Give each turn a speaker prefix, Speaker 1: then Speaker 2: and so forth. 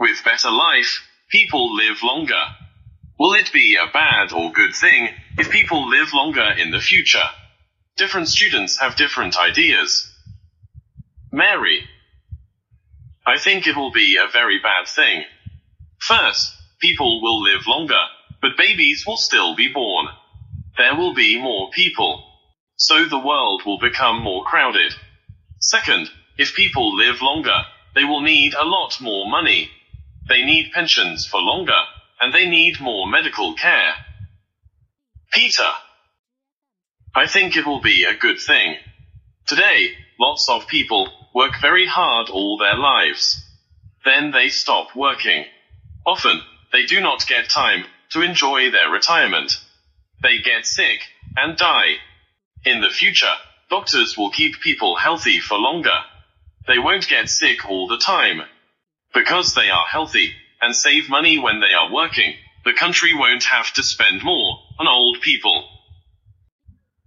Speaker 1: With better life, people live longer. Will it be a bad or good thing if people live longer in the future? Different students have different ideas. Mary: I think it will be a very bad thing. First, people will live longer, but babies will still be born. There will be more people, so the world will become more crowded. Second, if people live longer, they will need a lot more money. They need pensions for longer, and they need more medical care. Peter: I think it will be a good thing. Today, lots of people work very hard all their lives. Then they stop working. Often, they do not get time to enjoy their retirement. They get sick and die. In the future, doctors will keep people healthy for longer. They won't get sick all the time. Because they are healthy and save money when they are working, the country won't have to spend more on old people.